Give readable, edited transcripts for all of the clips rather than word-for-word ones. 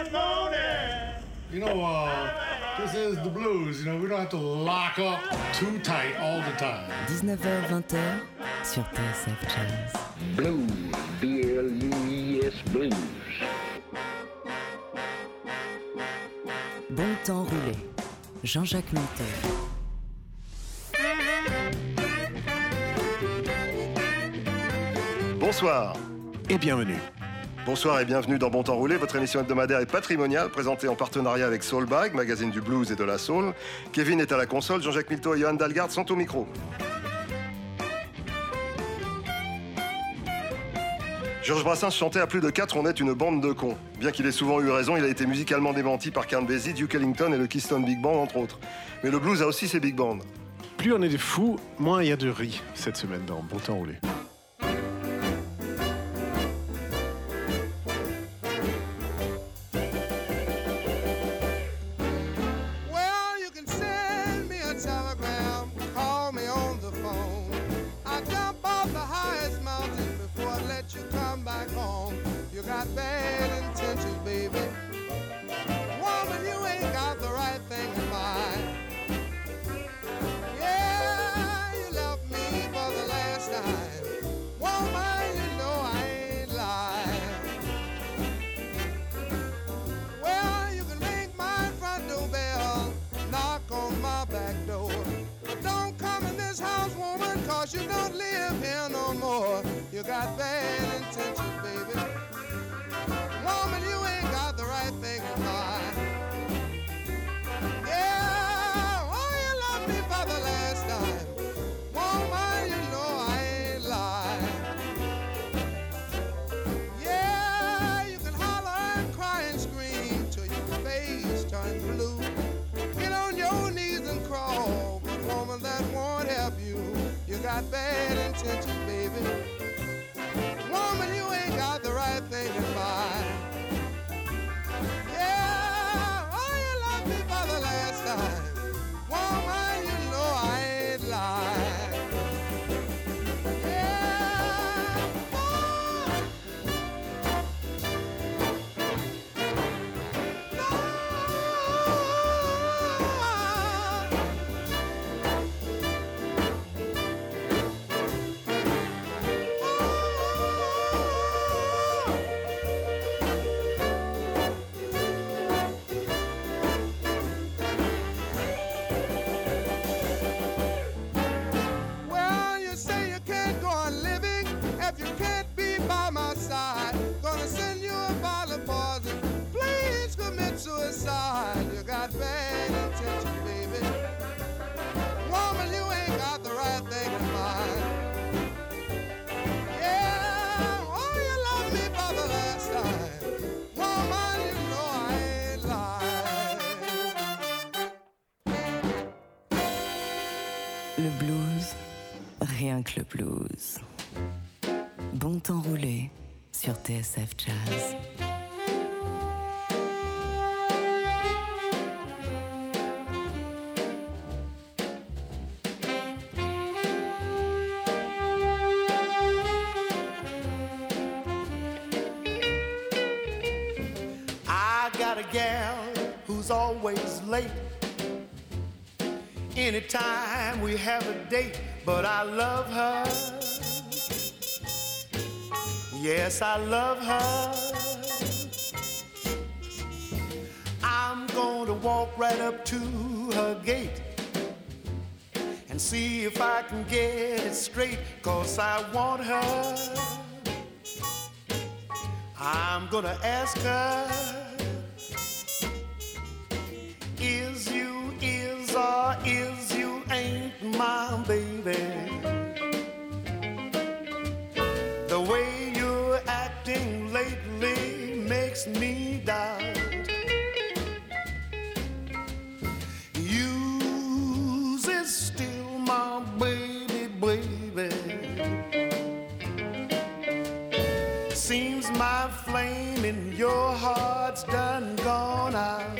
You know, this is the blues, you know, we don't have to lock up too tight all the time. 19h-20h sur TSF Jazz. Blues, B-L-U-E-S, blues. Bon temps roulé, Jean-Jacques Minter. Bonsoir et bienvenue. Bonsoir et bienvenue dans Bon Temps Roulé, votre émission hebdomadaire et patrimoniale présentée en partenariat avec Soulbag, magazine du blues et de la soul. Kevin est à la console, Jean-Jacques Milteau et Johan Dalgarde sont au micro. Georges Brassens chantait à plus de 4, on est une bande de cons. Bien qu'il ait souvent eu raison, il a été musicalement démenti par Count Basie, Duke Ellington et le Keystone Big Band, entre autres. Mais le blues a aussi ses big bands. Plus on est des fous, moins il y a de riz cette semaine dans Bon Temps Roulé. You don't live here no more. You got bad intentions, baby. Woman, you ain't got the right thing in mind. Yeah, oh, you love me for the last time. Woman, you know I ain't lying. Yeah, you can holler and cry and scream till your face turns blue. Get on your knees and crawl, but woman, that won't help you. You got bad intentions, baby. Woman, you ain't got the right thing in mind. Yeah, oh, you love me for the last time. Woman, you know I ain't lying. Yeah, oh. Suicide, you got bad intentions, baby. Woman, you ain't got the right thing in mind. Yeah, oh, you love me for the last time. Woman, you know I ain't lying. Le blues, rien que le blues. Bon temps roulé sur TSF Jazz. Always late anytime we have a date, but I love her. Yes, I love her. I'm going to walk right up to her gate and see if I can get it straight, 'cause I want her. I'm gonna ask her, is or is you ain't my baby? The way you're acting lately makes me doubt. You's is still my baby, baby. Seems my flame in your heart's done gone out.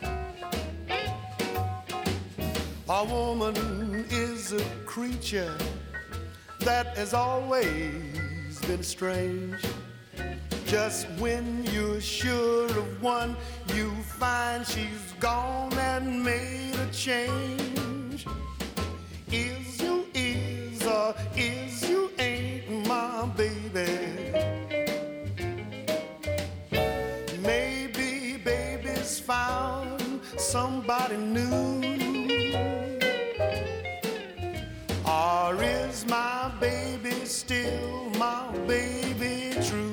A woman is a creature that has always been strange. Just when you're sure of one, you find she's gone and made a change. Is you is or is you ain't my baby? Maybe baby's found somebody new. Or is my baby still my baby true?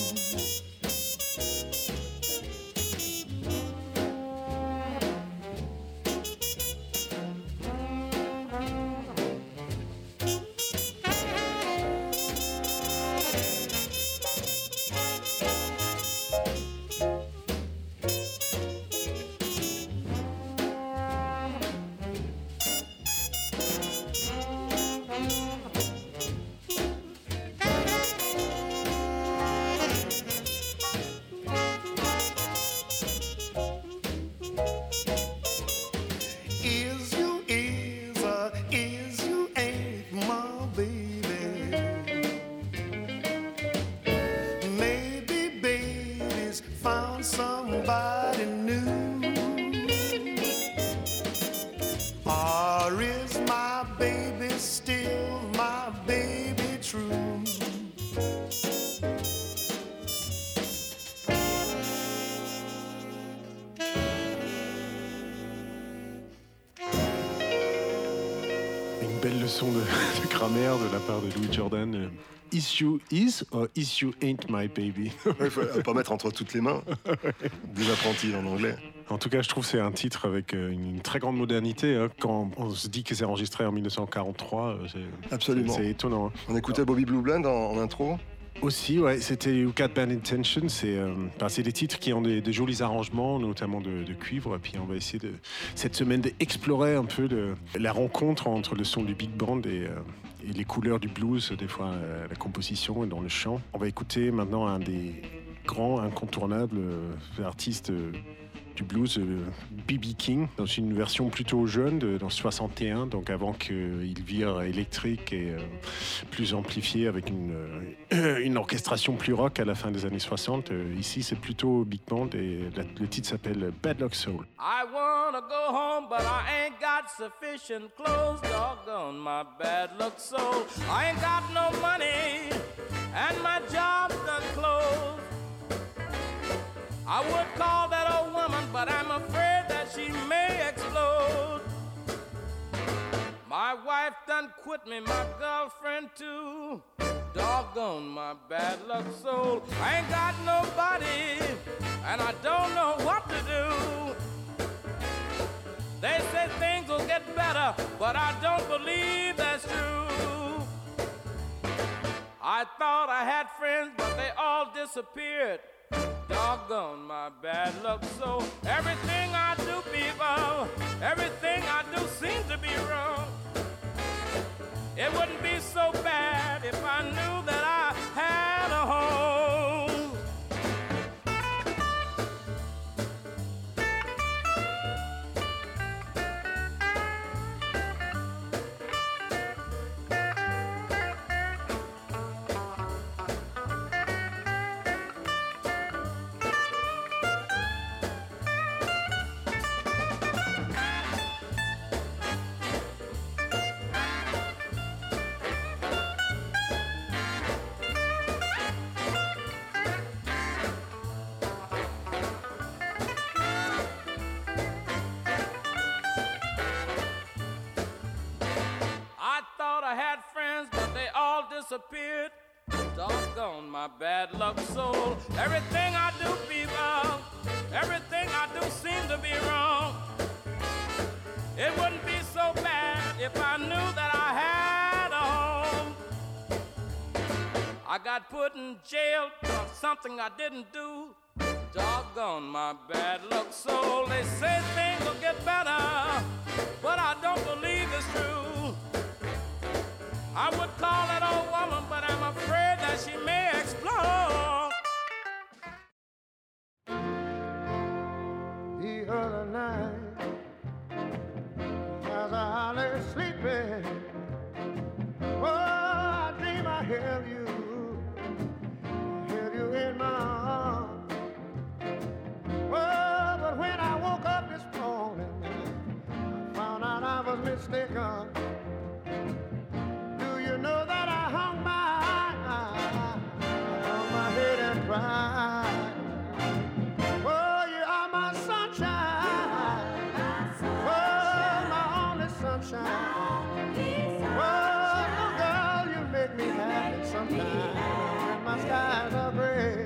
Belle leçon de grammaire de la part de Louis Jordan. Is you is or is you ain't my baby? Il faut pas mettre entre toutes les mains. Des apprentis en anglais. En tout cas, je trouve que c'est un titre avec une très grande modernité. Hein. Quand on se dit que c'est enregistré en 1943, absolument. C'est étonnant. Hein. On écoutait Bobby Blue Bland en intro. Aussi, ouais, c'était You Got Bad Intention. C'est des titres qui ont des jolis arrangements, notamment de cuivre. Et puis on va essayer cette semaine d'explorer un peu la rencontre entre le son du big band et les couleurs du blues, des fois la composition et dans le chant. On va écouter maintenant un des grands incontournables artistes du blues, B.B. King, dans une version plutôt jeune, dans 61, donc avant qu'il vire électrique et plus amplifié avec une orchestration plus rock à la fin des années 60. Ici, c'est plutôt big band et le titre s'appelle Bad Luck Soul. I wanna go home, but I ain't got sufficient clothes. Doggone my bad luck soul. I ain't got no money, and my job's done closed. I would call that old woman, but I'm afraid that she may explode. My wife done quit me, my girlfriend too. Doggone my bad luck soul. I ain't got nobody, and I don't know what to do. They say things will get better, but I don't believe that's true. I thought I had friends, but they all disappeared. Doggone my bad luck soul. Everything I do, people, everything I do seems to be wrong. It wouldn't be so bad if I knew that I had a home. Disappeared. Doggone my bad luck soul. Everything I do, people, everything I do seems to be wrong. It wouldn't be so bad if I knew that I had a home. I got put in jail for something I didn't do. Doggone my bad luck soul. They say things will get better, but I don't believe it's true. I would call that old woman, but I'm afraid that she may explode. The other night, as I lay sleeping, oh, I dream I held you in my mistaken. Do you know that I hung my on my head and cried? Oh, you are my sunshine. Oh, my only sunshine. Oh, girl, you make me happy sometimes when my skies are gray.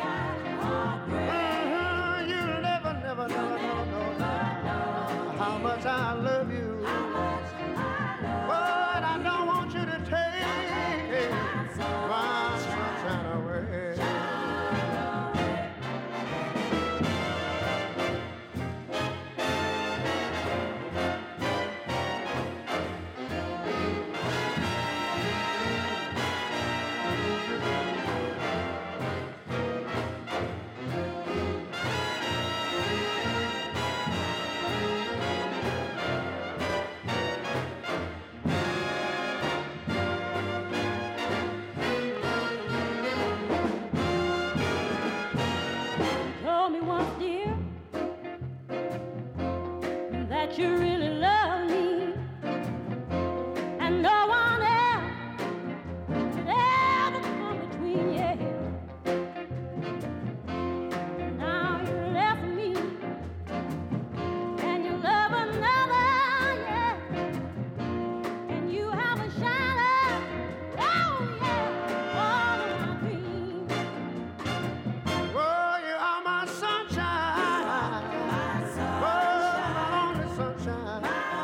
You'll never know how much I love you. But I don't want you to take my sunshine away. Told me once, dear, that you really love me, and no one else could ever come between you. Now you left me, and you love another, yeah, and you have a shadow, oh yeah, all of my dreams. Oh, you are my sunshine. Oh, my only sunshine.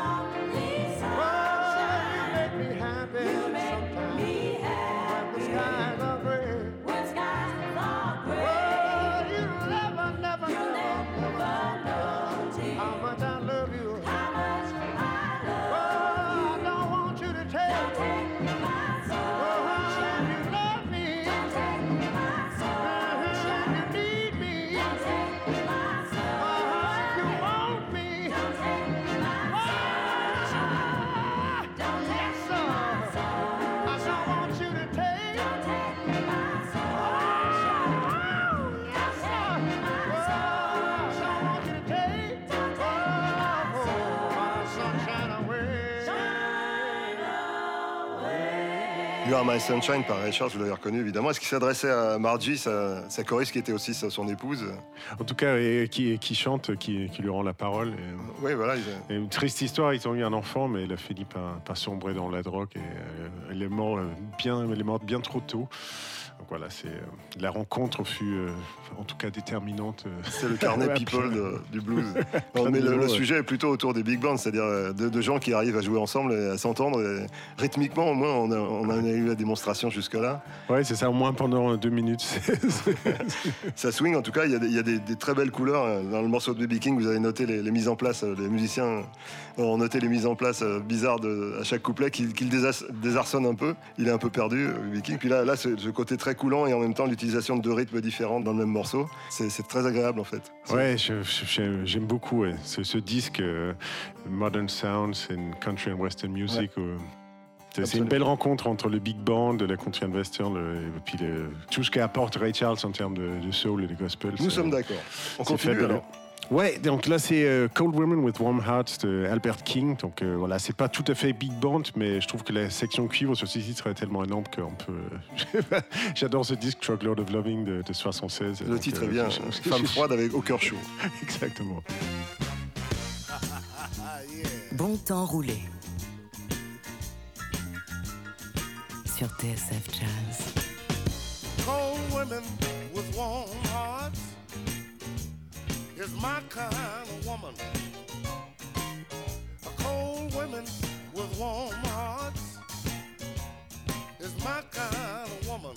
Oh, you make me happy sometimes when the skies are gray. Oh, you never know how much I love you. Oh, I don't want you to take. Oh, you love me. You need me. You want me. Yes, sir. I don't want you to take. Yes, sir. I don't want you to take. My sunshine away. You Are My Sunshine par Ray Charles, vous l'avez reconnu évidemment. Est-ce qu'il s'adressait à Margie, sa choriste qui était aussi son épouse? En tout cas, et qui chante, qui lui rend la parole. Et, Oui, voilà. et une triste histoire, ils ont eu un enfant, mais elle a fini par sombrer dans la drogue et elle est morte bien trop tôt. Donc voilà, la rencontre fut en tout cas déterminante. C'est le carnet people du blues. Non, mais le sujet est plutôt autour des big bands, c'est-à-dire de gens qui arrivent à jouer ensemble et à s'entendre. Et rythmiquement, au moins, on a eu la démonstration jusque-là. Oui, c'est ça, au moins pendant 2 minutes. Ça swing, en tout cas, il y a des très belles couleurs. Dans le morceau de B.B. King, vous avez noté les mises en place, les musiciens ont noté les mises en place bizarres à chaque couplet qu'il désarçonne un peu. Il est un peu perdu, B.B. King. Puis là ce côté très coulant et en même temps l'utilisation de 2 rythmes différents dans le même morceau, c'est très agréable en fait. Ouais, j'aime beaucoup ce disque Modern Sounds in Country and Western Music. Ouais. C'est une belle rencontre entre le big band, la country and western, et puis tout ce qu'apporte Ray Charles en termes de soul et de gospel. Nous sommes d'accord. On continue fabuleux. alors. Ouais, donc là c'est Cold Women with Warm Hearts de Albert King. Donc voilà, c'est pas tout à fait big band, mais je trouve que la section cuivre sur ce titre est tellement énorme qu'on peut. J'adore ce disque Truckload of Loving de 76. Le titre est bien. Femme froide avec au cœur chaud. Exactement. Bon temps roulé sur TSF Jazz. Cold women with warm hearts is my kind of woman. A cold woman with warm hearts is my kind of woman.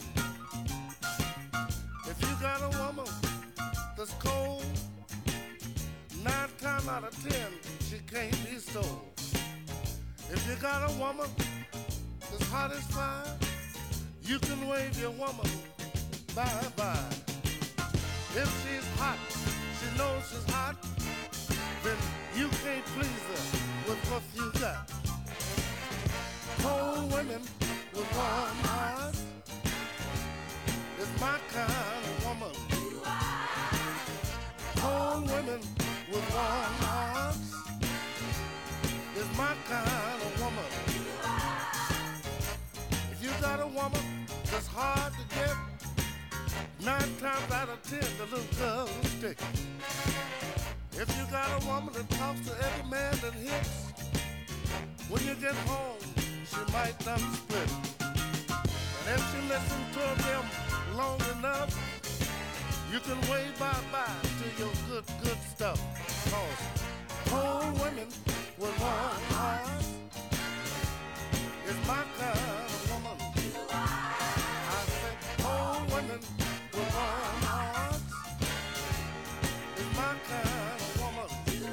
If you got a woman that's cold, 9 times out of 10 she can't be stole. If you got a woman that's hot as fire, you can wave your woman bye-bye. If she's hot, she knows she's hot, then you can't please her with what you got. Cold women with warm hearts is my kind of woman. Cold women with warm hearts is my kind 10, the little girl is stick. If you got a woman that talks to every man that hits, when you get home, she might not split. And if she listens to them long enough, you can wave bye-bye to your good stuff. Cause cold women with warm hearts is my kind of woman. I said cold women with warm hearts is my kind of woman.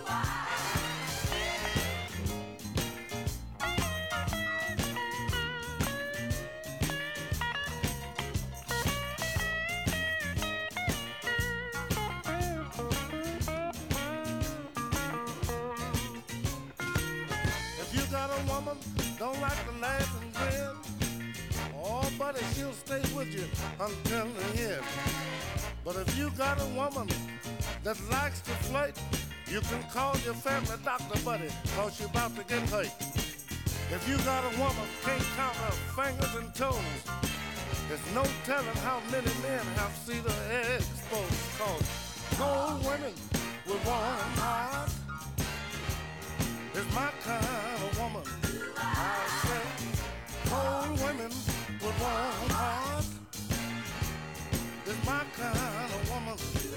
Woman don't like to laugh and grin. Oh, buddy, she'll stay with you until the end. But if you got a woman that likes to flirt, you can call your family doctor, buddy, cause you're about to get hurt. If you got a woman can't count her fingers and toes, there's no telling how many men have seen her exposed. Cause cold women with warm hearts is my kind of woman. I say cold women with warm hearts is my kind of woman.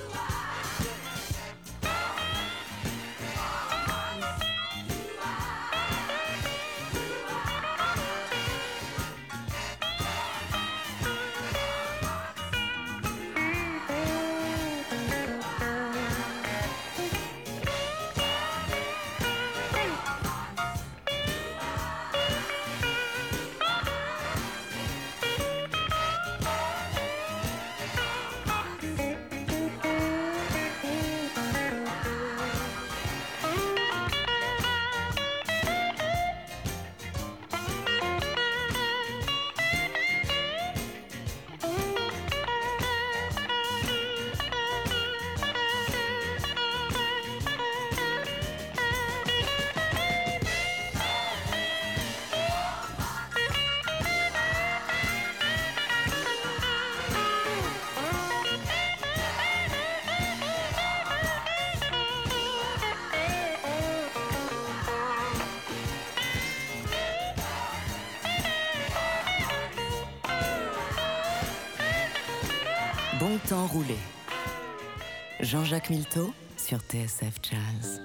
Bon temps roulé. Jean-Jacques Milteau sur TSF Jazz.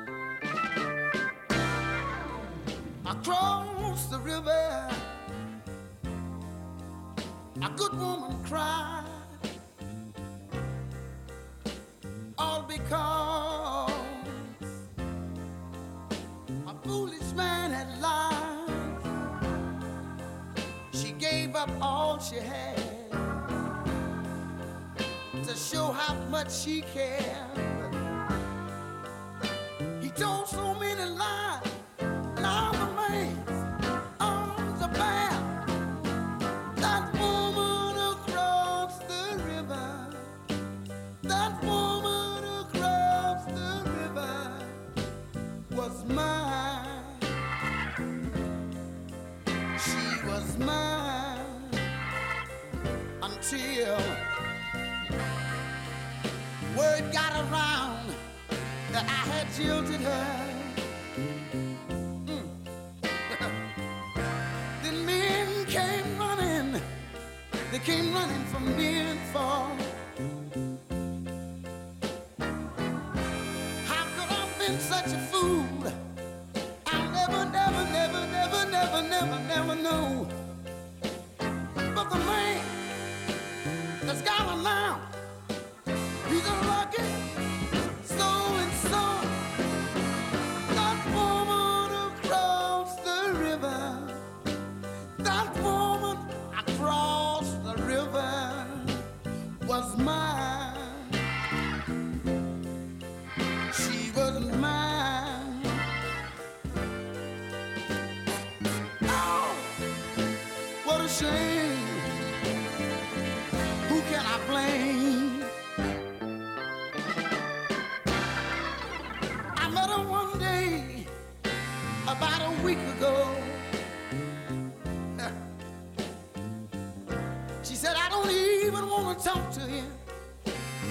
Across the river, a good woman cried, all because a foolish man had lied. She gave up all she had to show how much she cared. He told so many lies, now the man's arms are bare. That woman across the river, that woman across the river was mine. She was mine until word got around that I had jilted her. Then men came running, they came running from near and far. How could I have been such a fool? I'll never, never, never, never, never, never, never know. But the man that's got her now, he's a lucky so-and-so. That woman across the river, that woman across the river was mine. She was mine. Oh, what a shame. Who can I blame? I met her one day about a week ago. She said, I don't even want to talk to him.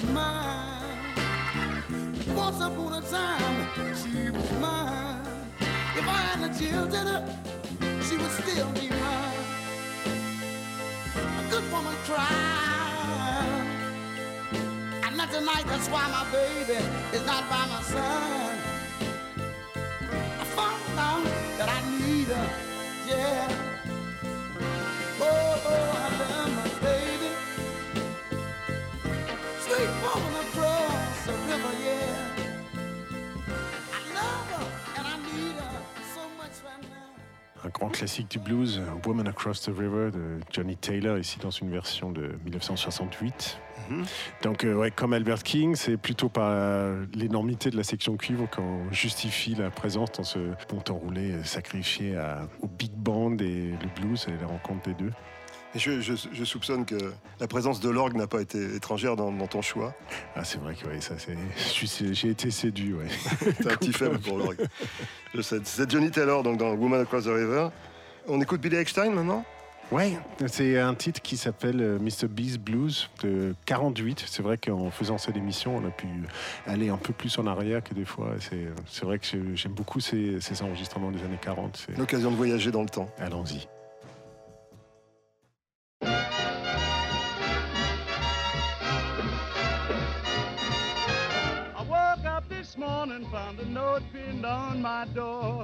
mine. Once upon a time, she was mine. If I had the children, she would still be mine. A good woman cries, and not tonight. That's why my baby is not by my side. I found out that I need her, yeah. Oh, I love my baby. Sweet woman across the river, yeah. I love her and I need her so much right now. Un grand classique du blues, Woman Across the River de Johnny Taylor, ici dans une version de 1968. Donc, comme Albert King, c'est plutôt par l'énormité de la section cuivre qu'on justifie la présence dans ce bon enroulé sacrifié au big band et le blues et la rencontre des deux. Et je soupçonne que la présence de l'orgue n'a pas été étrangère dans ton choix. Ah, c'est vrai que ça, j'ai été séduit. Ouais. T'as un petit faible pour l'orgue. C'est Johnny Taylor donc, dans Woman Across the River. On écoute Billy Eckstine maintenant ? Ouais, c'est un titre qui s'appelle Mr. B's Blues de 48. C'est vrai qu'en faisant cette émission, on a pu aller un peu plus en arrière que des fois. C'est vrai que j'aime beaucoup ces enregistrements des années 40. C'est l'occasion de voyager dans le temps. Allons-y. I woke up this morning, found a note pinned on my door.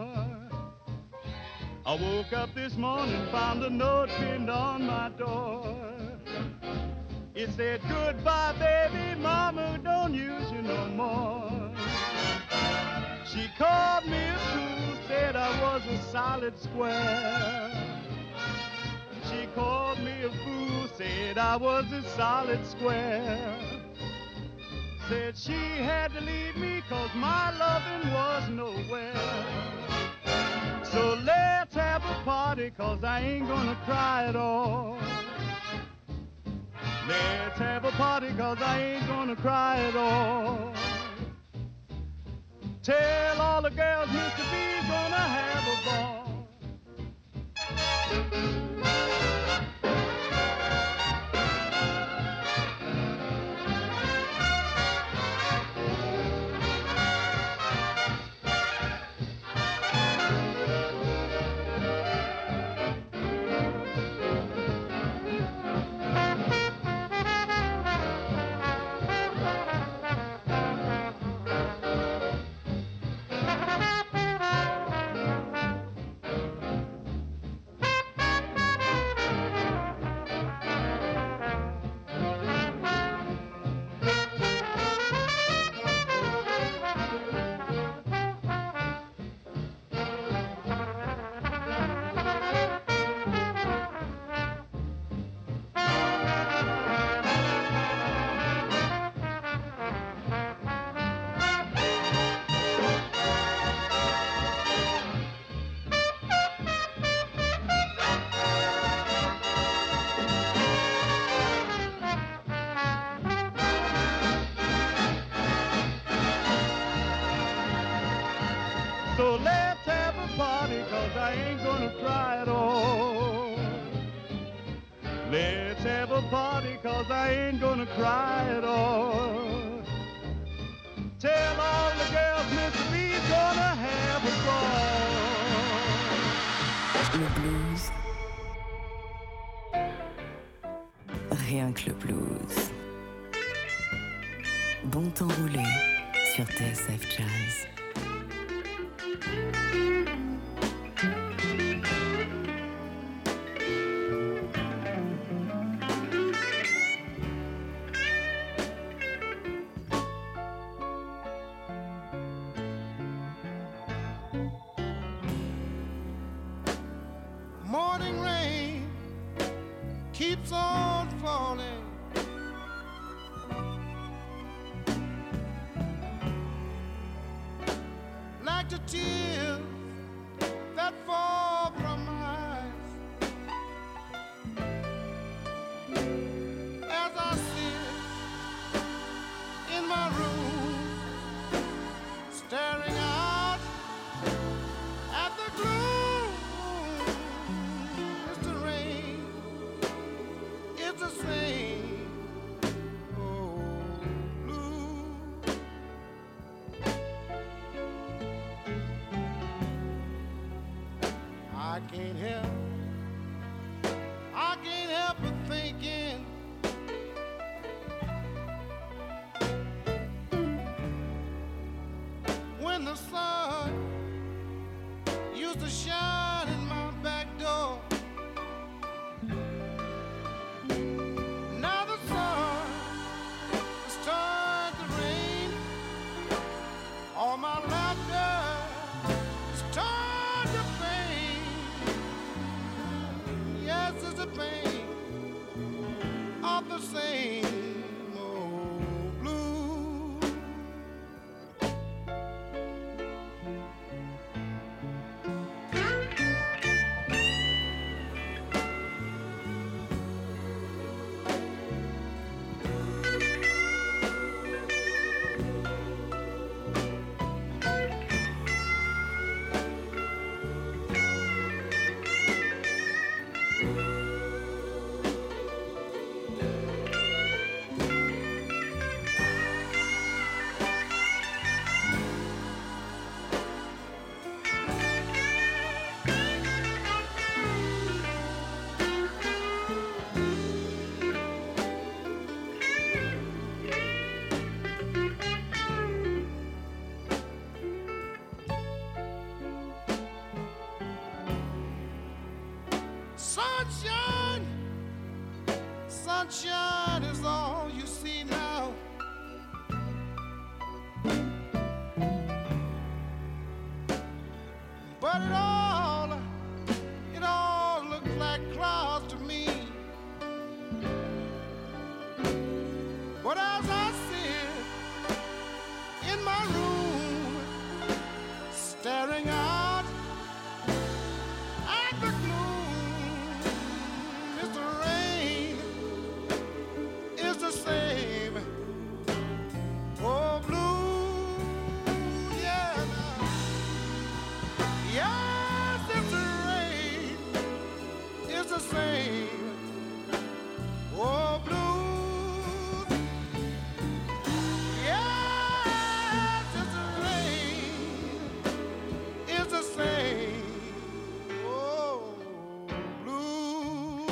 I woke up this morning, found a note pinned on my door. It said, goodbye, baby, mama don't use you no more. She called me a fool, said I was a solid square. She called me a fool, said I was a solid square. Said she had to leave me 'cause my loving was nowhere. So let's have a party 'cause I ain't gonna cry at all. Let's have a party 'cause I ain't gonna cry at all. Tell all the girls Mr. B's gonna have a ball. So let's have a party 'cause I ain't gonna cry at all. Let's have a party 'cause I ain't gonna cry at all. Tell all the girls Mr. B's gonna have a ball. Le blues. Rien que le blues. Bon temps roulé sur TSF Jazz. Morning rain keeps on falling. used to shine in my back door. Now the sun has turned to rain. All my laughter is turned to pain. Yes, it's the pain of the same old blues. Sunshine, sunshine is all you see now. But it all looks like clouds to me. But as I sit in my room, staring out at the gloom, Mr. Rain is the same. Oh, blue, yeah, now. Yes, Mr. Rain is the same. Oh, blues, yes, Mr. Rain is the same. Oh, blue.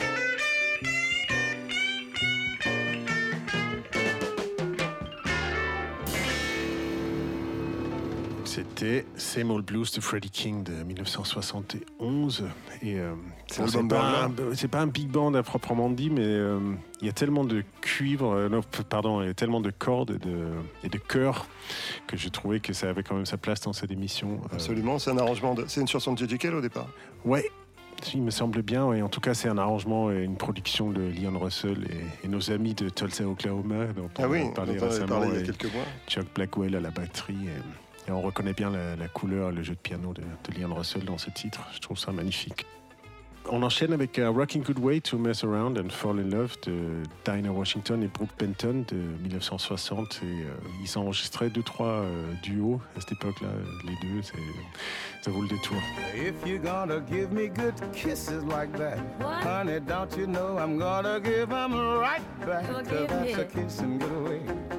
C'était Same Old Blues de Freddie King de 1971. Et C'est bon, l'album c'est pas un big band à proprement dit, mais il y a tellement de cuivre, il y a tellement de cordes et de chœurs que j'ai trouvé que ça avait quand même sa place dans cette émission. Absolument, c'est un arrangement. C'est une chanson de J.J. Cale au départ. Ouais, il me semble bien. Et en tout cas, c'est un arrangement et une production de Leon Russell et nos amis de Tulsa, Oklahoma, dont on a parlé récemment, il y a quelques mois. Chuck Blackwell à la batterie. Et on reconnaît bien la couleur, le jeu de piano de Leon Russell dans ce titre. Je trouve ça magnifique. On enchaîne avec Rockin' Good Way to Mess Around and Fall in Love de Dinah Washington et Brooke Benton de 1960. Et ils enregistraient 2-3 duos à cette époque-là. Les deux, ça vaut le détour. If you're gonna give me good kisses like that, honey, don't you know I'm gonna give them right back. That's a kissing good way.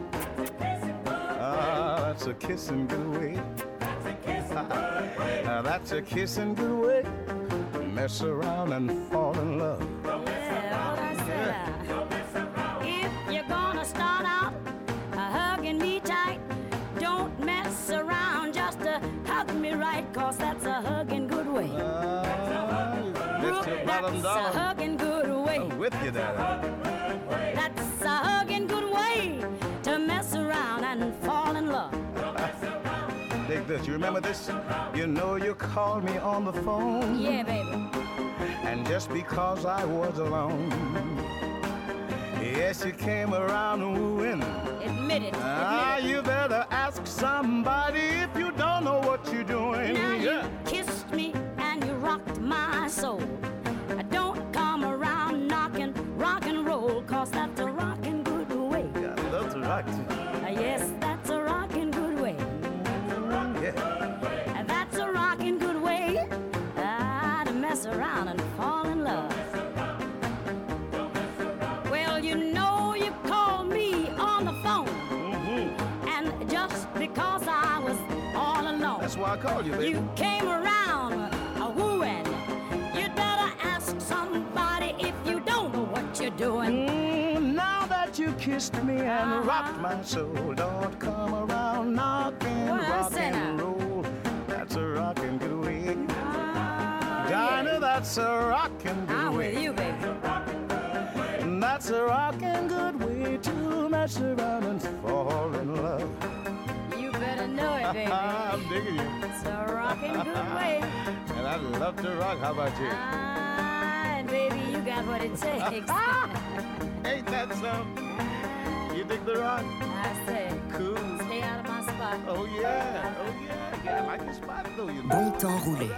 Ah, that's a kissing good way. That's a kissing good way. Mess around and fall in love. Yeah, what I said. If you're gonna start out hugging me tight, don't mess around, just hug me right, cause that's a hugging good way. Brooke, that's a hugging good way. I'm with you there. That's a hugging good way to mess around and fall in love. Dig this. You remember this? You know you called me on the phone. Yeah, baby. And just because I was alone, yes, you came around wooing. Admit it. Ah, you better ask somebody if you don't know what you're doing. Now you kissed me and you rocked my soul. Don't come around knocking rock and roll, cause that's a rockin' good way. Yeah, that's right. Yes, that's a rockin' good way. Yeah. That's a rockin' good way to mess around and fall in love. Well, you know you called me on the phone, and just because I was all alone, that's why I called you, baby. You came around wooing. You'd better ask somebody if you don't know what you're doing. Now that you kissed me and rocked my soul, don't come around knocking rock and roll. That's a rockin' good way. That's a rockin' good I'm way. with you, baby. That's a rockin' good way to mess around and fall in love. You better know it, baby. I'm digging you. It's a rockin' good way. And I love to rock. How about you? And baby, you got what it takes. Ain't that so? You dig the rock? I say, cool. Stay out of my spot. Oh yeah, yeah, I like your spot though. You know? Bon temps roulé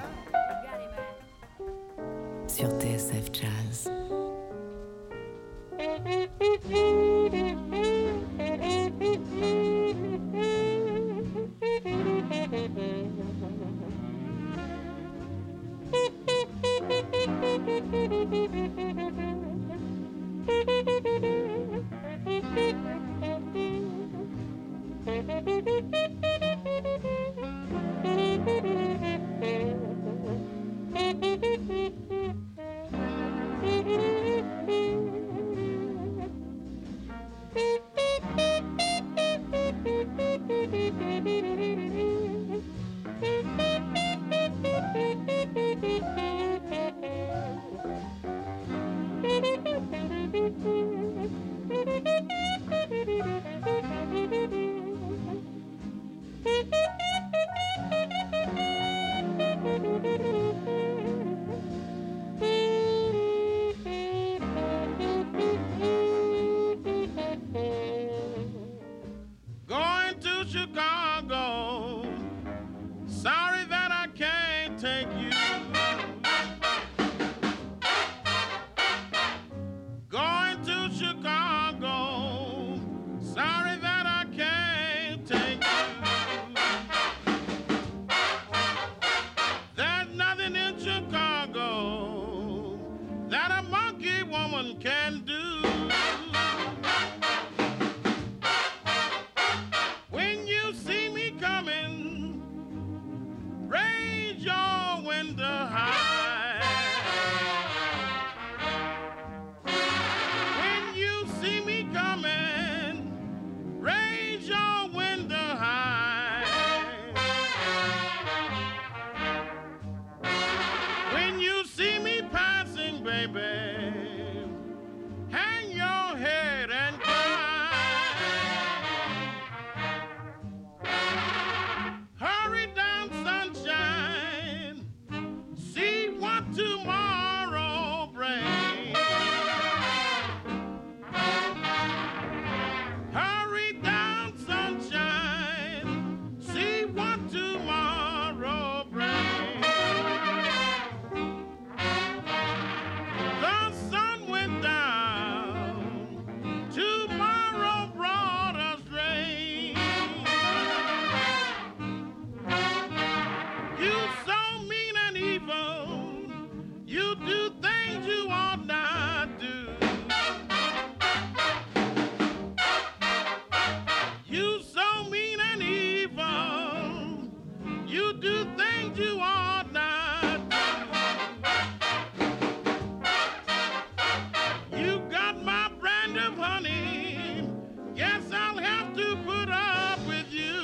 sur TSF Jazz. Going to Chicago. Sorry that I can't take you. Going to Chicago. Sorry that I can't take you. There's nothing in Chicago that a monkey woman can do. When you see me coming, raise your window high. When you see me coming, raise your window high. When you see me passing, baby, hang your head and cry. Hurry down, sunshine, see what tomorrow brings. Hurry down, sunshine, see what tomorrow brings. The sun went down, tomorrow brought us rain. You so mean and evil, you do things you ought not do. You so mean and evil, you do things you ought not do. You got my brand of honey, yes, I'll have to put up with you.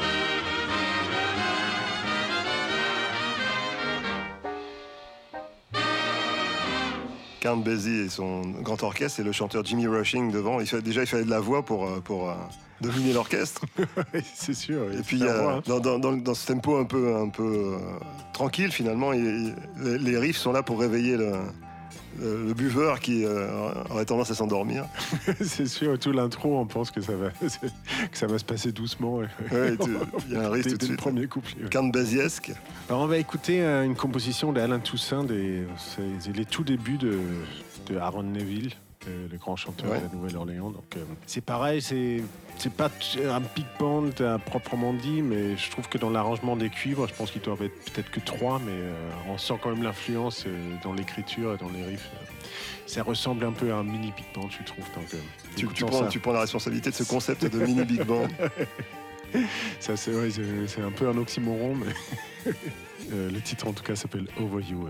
Count Basie et son grand orchestre et le chanteur Jimmy Rushing devant. Il fallait de la voix pour dominer l'orchestre. C'est sûr. Et puis dans ce tempo un peu tranquille finalement, les riffs sont là pour réveiller le buveur qui aurait tendance à s'endormir. C'est sûr, tout l'intro, on pense que ça va se passer doucement. Ouais, il y a un riff tout de suite. Le premier couplet. Ouais. Count Basiesque. Alors on va écouter une composition d'Alain Toussaint, c'est les tout débuts de Aaron Neville, le grand chanteur de la Nouvelle-Orléans. Donc c'est pareil, c'est pas un big band à proprement dit, mais je trouve que dans l'arrangement des cuivres, je pense qu'ils doivent être peut-être que 3, mais on sent quand même l'influence dans l'écriture et dans les riffs. Ça ressemble un peu à un mini big band, je trouve. Donc, tu prends la responsabilité de ce concept de mini big band. Ça, c'est un peu un oxymoron, mais le titre en tout cas s'appelle Over You.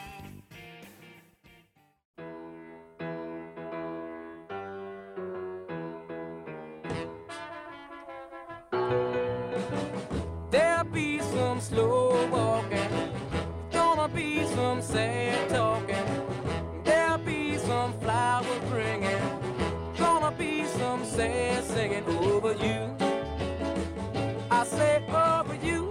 There'll be some slow walking, gonna be some sad talking. sad singing over you. I say over you,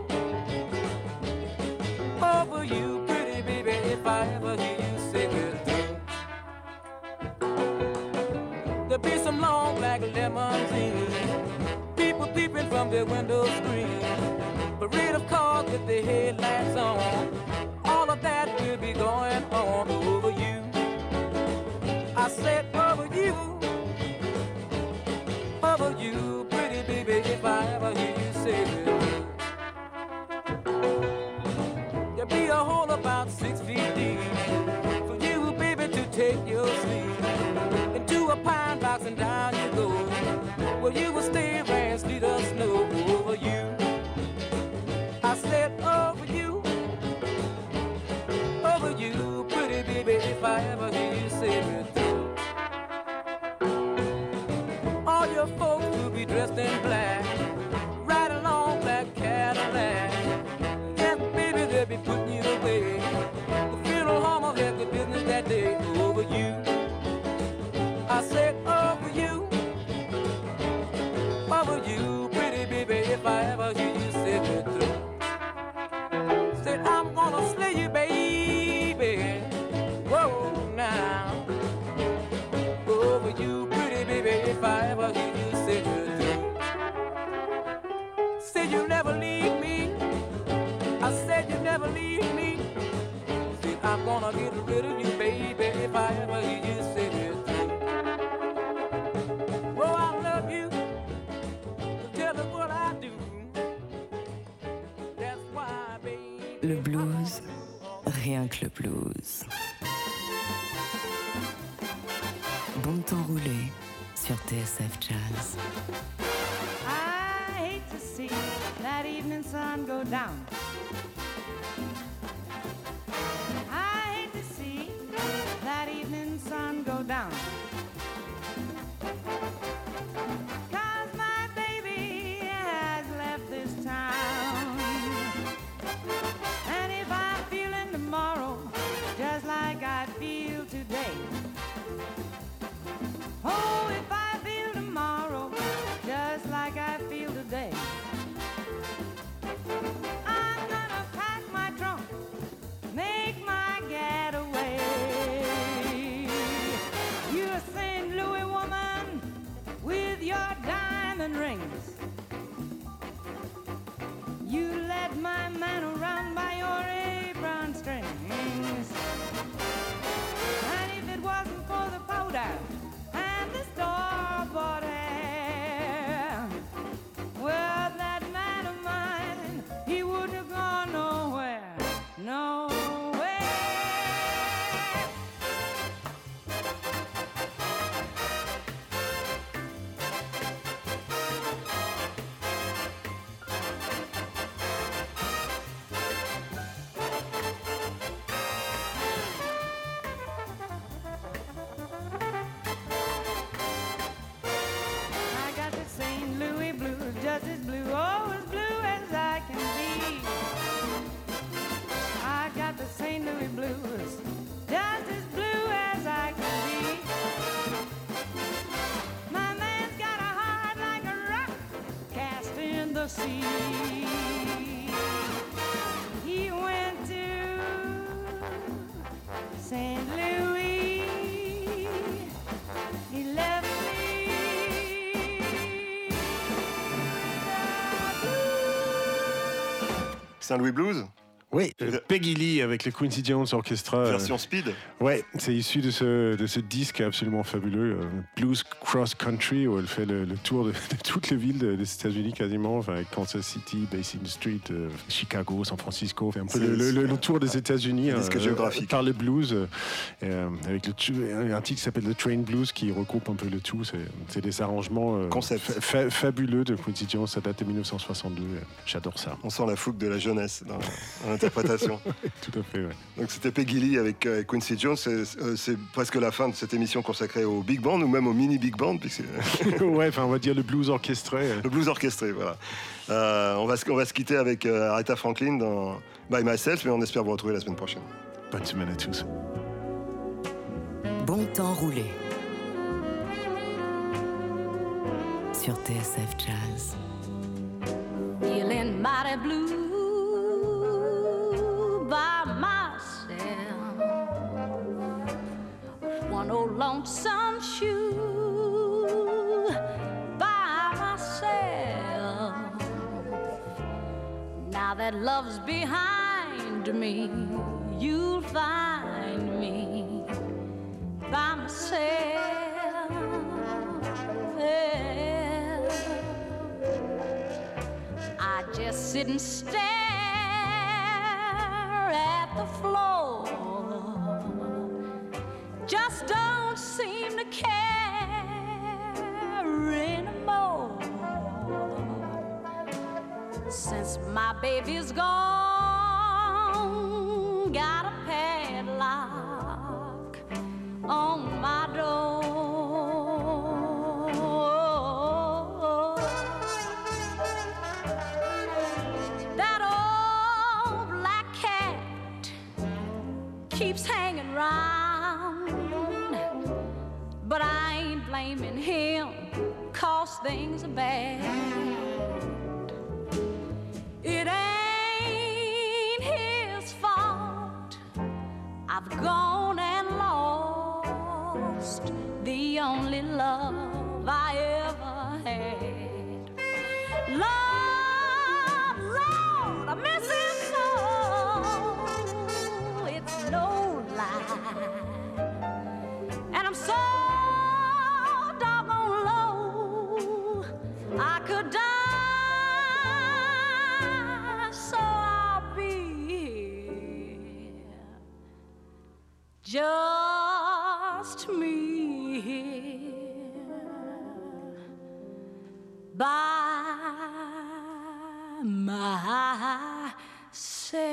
pretty baby, if I ever hear you sing it through. There'll be some long black limousines, people peeping from their window screen, parade of cars with the headlights on, all of that will be going on over you. I said over you, pretty baby, if I ever hear you say it. There'll be a hole about 6 feet deep for you, baby, to take your sleep into a pine box and down you go, where you will stay, rain, sleet or snow over you. I said over you, pretty baby, if I ever hear you say it. All your folks will be dressed in black, ride along black Cadillac. Yes, baby, they'll be putting you away. The funeral home will have good business that day over you. I said over you, pretty baby, if I ever hear you say it through. Said I'm gonna slay you, baby. Whoa, now. Over you, pretty baby, if I ever hear you say it through. Said you never leave me. I said you never leave me. Said I'm gonna get rid of you, baby, if I ever hear you say it through. Oh, I love you. Tell me what I do. That's why, baby. Le blues, rien que le blues. Bon temps roulé sur TSF Jazz. I hate to see that evening sun go down. I hate to see that evening sun go down. 'Cause my baby has left this town. And if I'm feeling tomorrow just like I feel today, oh, if I feel tomorrow just like I feel today, I'm gonna pack my trunk, make my getaway. You're a St. Louis woman with your diamond rings. You led my man around by your apron strings. And if it wasn't for the powder and the store-bought hair, well, that man of mine, he wouldn't have gone nowhere, nowhere. I got the St. Louis blues, just as blue, oh, as blue as I can be. I got the St. Louis blues, just as blue as I can be. My man's got a heart like a rock cast in the sea. He went to St. Louis, he left me. Saint-Louis Blues, Oui, Peggy Lee avec le Quincy Jones Orchestra. version speed. Ouais, c'est issu de ce disque absolument fabuleux, Blues Cross Country, où elle fait le tour de toutes les villes des États-Unis quasiment, enfin, Kansas City, Basin Street, Chicago, San Francisco, fait un peu le tour des États-Unis géographique. par le blues, avec un titre qui s'appelle The Train Blues qui regroupe un peu le tout. C'est des arrangements fabuleux de Quincy Jones, ça date de 1962. J'adore ça. On sent la fougue de la jeunesse dans l'interprétation. Tout à fait, ouais. Donc c'était Peggy Lee avec Quincy Jones. C'est presque la fin de cette émission consacrée au Big Band ou même au mini Big Band. Ouais, enfin on va dire le blues orchestré. Le blues orchestré, voilà. On va se quitter avec Aretha Franklin dans By Myself, mais on espère vous retrouver la semaine prochaine. Bonne semaine à tous. Bon temps roulé sur TSF Jazz. Feeling mighty blue by myself. One old lonesome shoe by myself. Now that love's behind me, you'll find me by myself. I just sit and stare at the floor. Just don't seem to care anymore. Since my baby's gone, got a padlock on my door. That old black cat keeps hanging round, but I ain't blaming him, 'cause things are bad. It ain't his fault. I've gone and lost the only love I ever had. Lord, Lord, I miss him so. It's no lie. And I'm so doggone low, I could die. So I'll be here, just me here by myself.